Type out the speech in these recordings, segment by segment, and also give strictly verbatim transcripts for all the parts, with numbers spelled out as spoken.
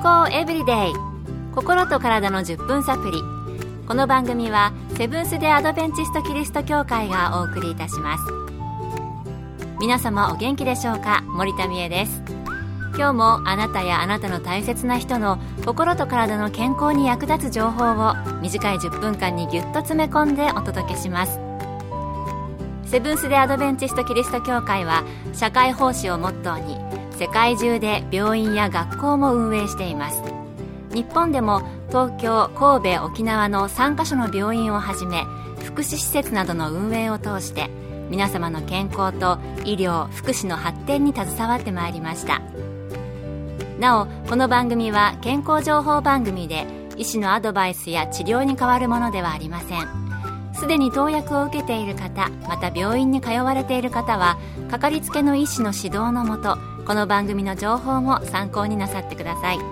康エブリデイ、心と体のじゅっぷんサプリ。この番組はセブンス・デ・アドベンチスト・キリスト教会がお送りいたします。皆様お元気でしょうか。森田美恵です。今日もあなたやあなたの大切な人の心と体の健康に役立つ情報を短いじゅっぷんかんにぎゅっと詰め込んでお届けします。セブンス・デ・アドベンチスト・キリスト教会は社会奉仕をモットーに世界中で病院や学校も運営しています。日本でも東京、神戸、沖縄のさんカ所の病院をはじめ福祉施設などの運営を通して皆様の健康と医療・福祉の発展に携わってまいりました。なお、この番組は健康情報番組で医師のアドバイスや治療に代わるものではありません。すでに投薬を受けている方、また病院に通われている方はかかりつけの医師の指導のもと、この番組の情報も参考になさってください。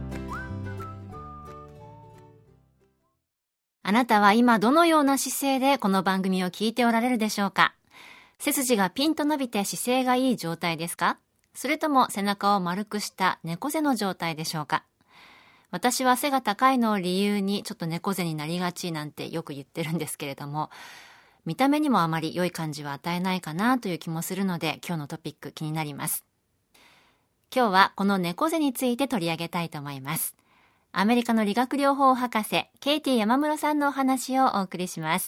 あなたは今どのような姿勢でこの番組を聞いておられるでしょうか。背筋がピンと伸びて姿勢がいい状態ですか？それとも背中を丸くした猫背の状態でしょうか。私は背が高いのを理由にちょっと猫背になりがちなんてよく言ってるんですけれども、見た目にもあまり良い感じは与えないかなという気もするので、今日のトピック気になります。今日はこの猫背について取り上げたいと思います。アメリカの理学療法博士ケイティ山室さんのお話をお送りします。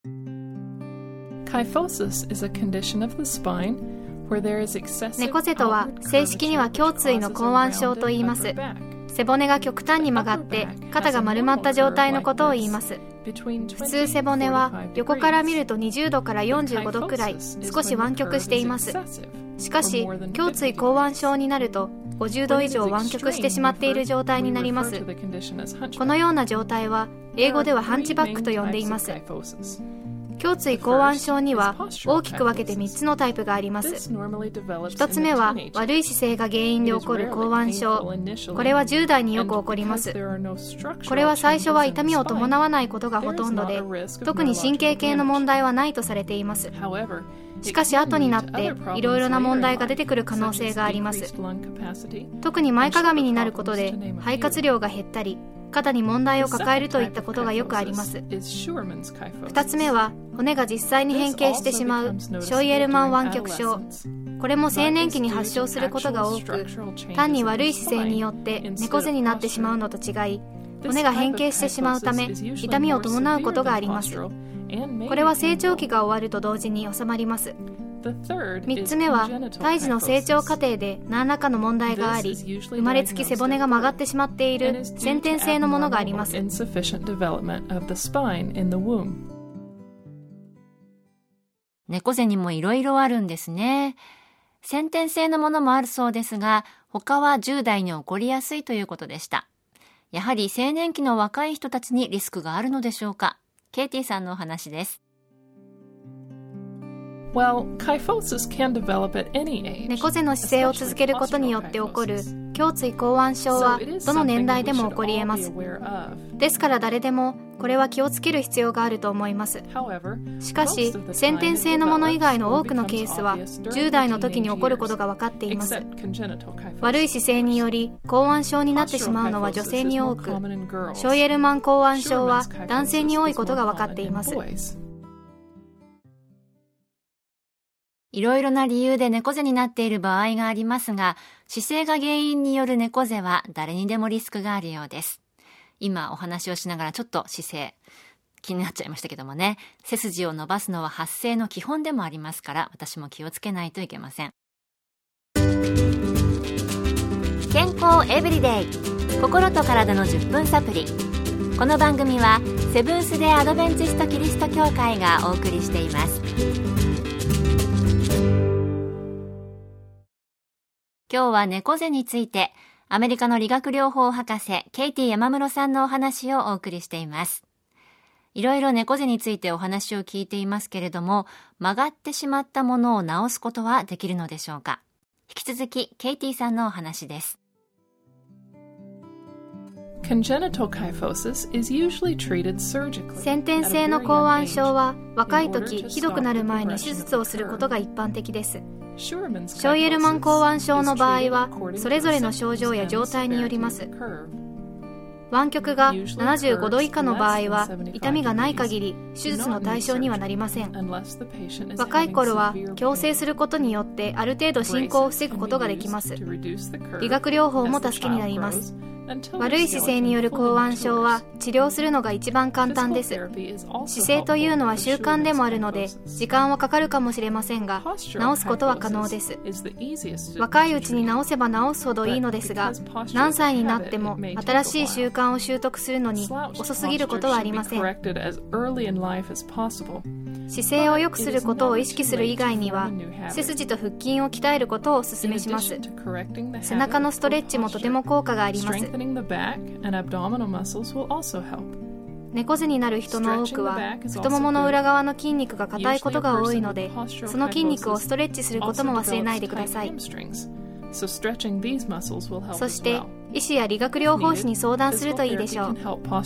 Kyphosis is a condition of the spine where there is excessive 猫背とは正式には胸椎の後腕症と言います。背骨が極端に曲がって肩が丸まった状態のことを言います。普通背骨は横から見るとにじゅうどからよんじゅうごどくらい少し湾曲しています。しかし胸椎後腕症になるとごじゅうど以上湾曲してしまっている状態になります。このような状態は英語ではハンチバックと呼んでいます。胸椎後腕症には大きく分けてみっつのタイプがあります。ひとつめは悪い姿勢が原因で起こる後腕症。これはじゅう代によく起こります。これは最初は痛みを伴わないことがほとんどで、特に神経系の問題はないとされています。しかし後になっていろいろな問題が出てくる可能性があります。特に前かがみになることで肺活量が減ったり、肩に問題を抱えるといったことがよくあります。ふたつめは骨が実際に変形してしまうショイエルマン湾曲症。これも青年期に発症することが多く、単に悪い姿勢によって猫背になってしまうのと違い、骨が変形してしまうため痛みを伴うことがあります。これは成長期が終わると同時に収まります。みっつめは胎児の成長過程で何らかの問題があり、生まれつき背骨が曲がってしまっている先天性のものがあります。 猫背にもいろいろあるんですね。先天性のものもあるそうですが、他はじゅう代に起こりやすいということでした。やはり青年期の若い人たちにリスクがあるのでしょうか。ケイティさんのお話です。 Well, kyphosis can develop at any age. 猫背の姿勢を続けることによって起こる胸椎後腕症はどの年代でも起こり得ます。ですから誰でもこれは気をつける必要があると思います。しかし先天性のもの以外の多くのケースはじゅう代の時に起こることが分かっています。悪い姿勢により後腕症になってしまうのは女性に多く、ショイエルマン後腕症は男性に多いことが分かっています。 いろいろな理由で猫背になっている場合がありますが、姿勢が原因による猫背は誰にでもリスクがあるようです。今お話をしながらちょっと姿勢気になっちゃいましたけどもね、背筋を伸ばすのは発声の基本でもありますから、私も気をつけないといけません。健康エブリデイ、心と体のじゅっぷんサプリ。この番組はセブンス・デ・アドベンチスト・キリスト教会がお送りしています。今日は猫背についてアメリカの理学療法博士ケイティ山室さんのお話をお送りしています。いろいろ猫背についてお話を聞いていますけれども、曲がってしまったものを直すことはできるのでしょうか。引き続きケイティさんのお話です。 Congenital kyphosis is usually treated surgically. 先天性の後腕症は若い時ひどくなる前に手術をすることが一般的です。 ショイエルマン口腕症の場合はそれぞれの症状や状態によります。湾曲がななじゅうごど以下の場合は痛みがない限り手術の対象にはなりません。若い頃は矯正することによってある程度進行を防ぐことができます。理学療法も助けになります。悪い姿勢による口腕症は治療するのが一番簡単です。姿勢というのは習慣でもあるので時間はかかるかもしれませんが治すことは可能です。若いうちに治せば治すほどいいのですが、何歳になっても新しい習慣を習得するのに遅すぎることはありません。姿勢を良くすることを意識する以外には背筋と腹筋を鍛えることをお勧めします。背中のストレッチもとても効果があります。猫背になる人の多くは太ももの裏側の筋肉が硬いことが多いので、その筋肉をストレッチすることも忘れないでください。そして医師や理学療法士に相談するといいでしょう。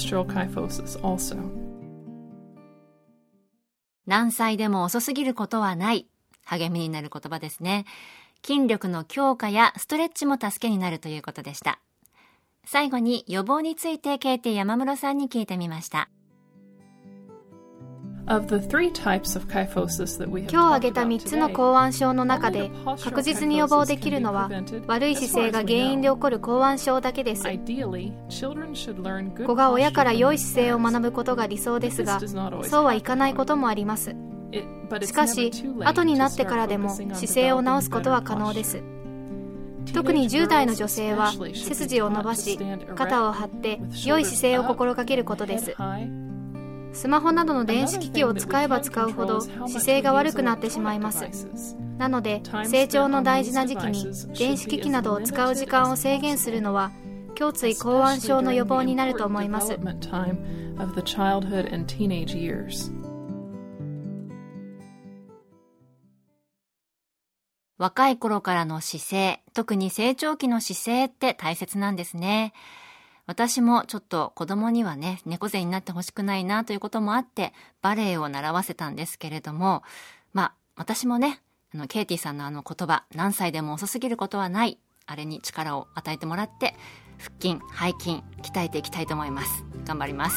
何歳でも遅すぎることはない、励みになる言葉ですね。筋力の強化やストレッチも助けになるということでした。最後に予防についてケイティ山室さんに聞いてみました。 今日挙げたみっつの口腕症の中で確実に予防できるのは悪い姿勢が原因で起こる口腕症だけです。子が親から良い姿勢を学ぶことが理想ですが、そうはいかないこともあります。しかし後になってからでも姿勢を直すことは可能です。特にじゅう代の女性は背筋を伸ばし肩を張って良い姿勢を心がけることです。スマホなどの電子機器を使えば使うほど姿勢が悪くなってしまいます。なので成長の大事な時期に電子機器などを使う時間を制限するのは胸椎口腕症の予防になると思います。 若い頃からの姿勢、特に成長期の姿勢って大切なんですね。私もちょっと子供にはね、猫背になってほしくないなということもあってバレエを習わせたんですけれども、まあ私もね、あのケイティさんのあの言葉、何歳でも遅すぎることはない、あれに力を与えてもらって腹筋、背筋鍛えていきたいと思います。頑張ります。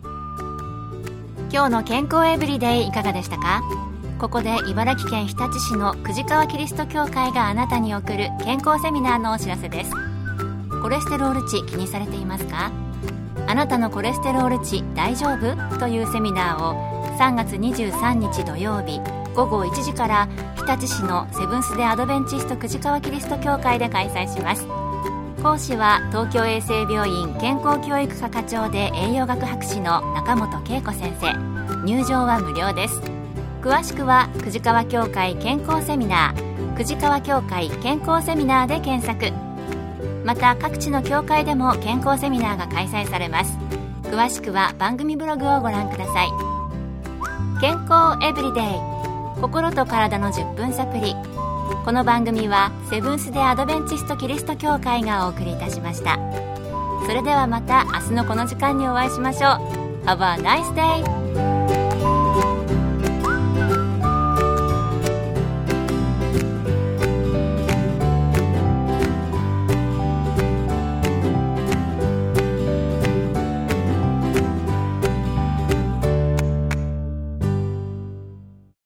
今日の健康エブリデイいかがでしたか？ここで茨城県日立市の久慈川キリスト教会があなたに送る健康セミナーのお知らせです。コレステロール値気にされていますか？あなたのコレステロール値大丈夫？というセミナーをさんがつにじゅうさんにち土曜日ごごいちじから日立市のセブンス・デ・アドベンチスト久慈川キリスト教会で開催します。講師は東京衛生病院健康教育科課長で栄養学博士の中本恵子先生。入場は無料です。詳しくは久慈川教会健康セミナー、久慈川教会健康セミナーで検索。また各地の教会でも健康セミナーが開催されます。詳しくは番組ブログをご覧ください。健康エブリデイ、心と体のじゅっぷんサプリ。この番組はセブンス・デ・アドベンチスト・キリスト教会がお送りいたしました。それではまた明日のこの時間にお会いしましょう。Have a nice day!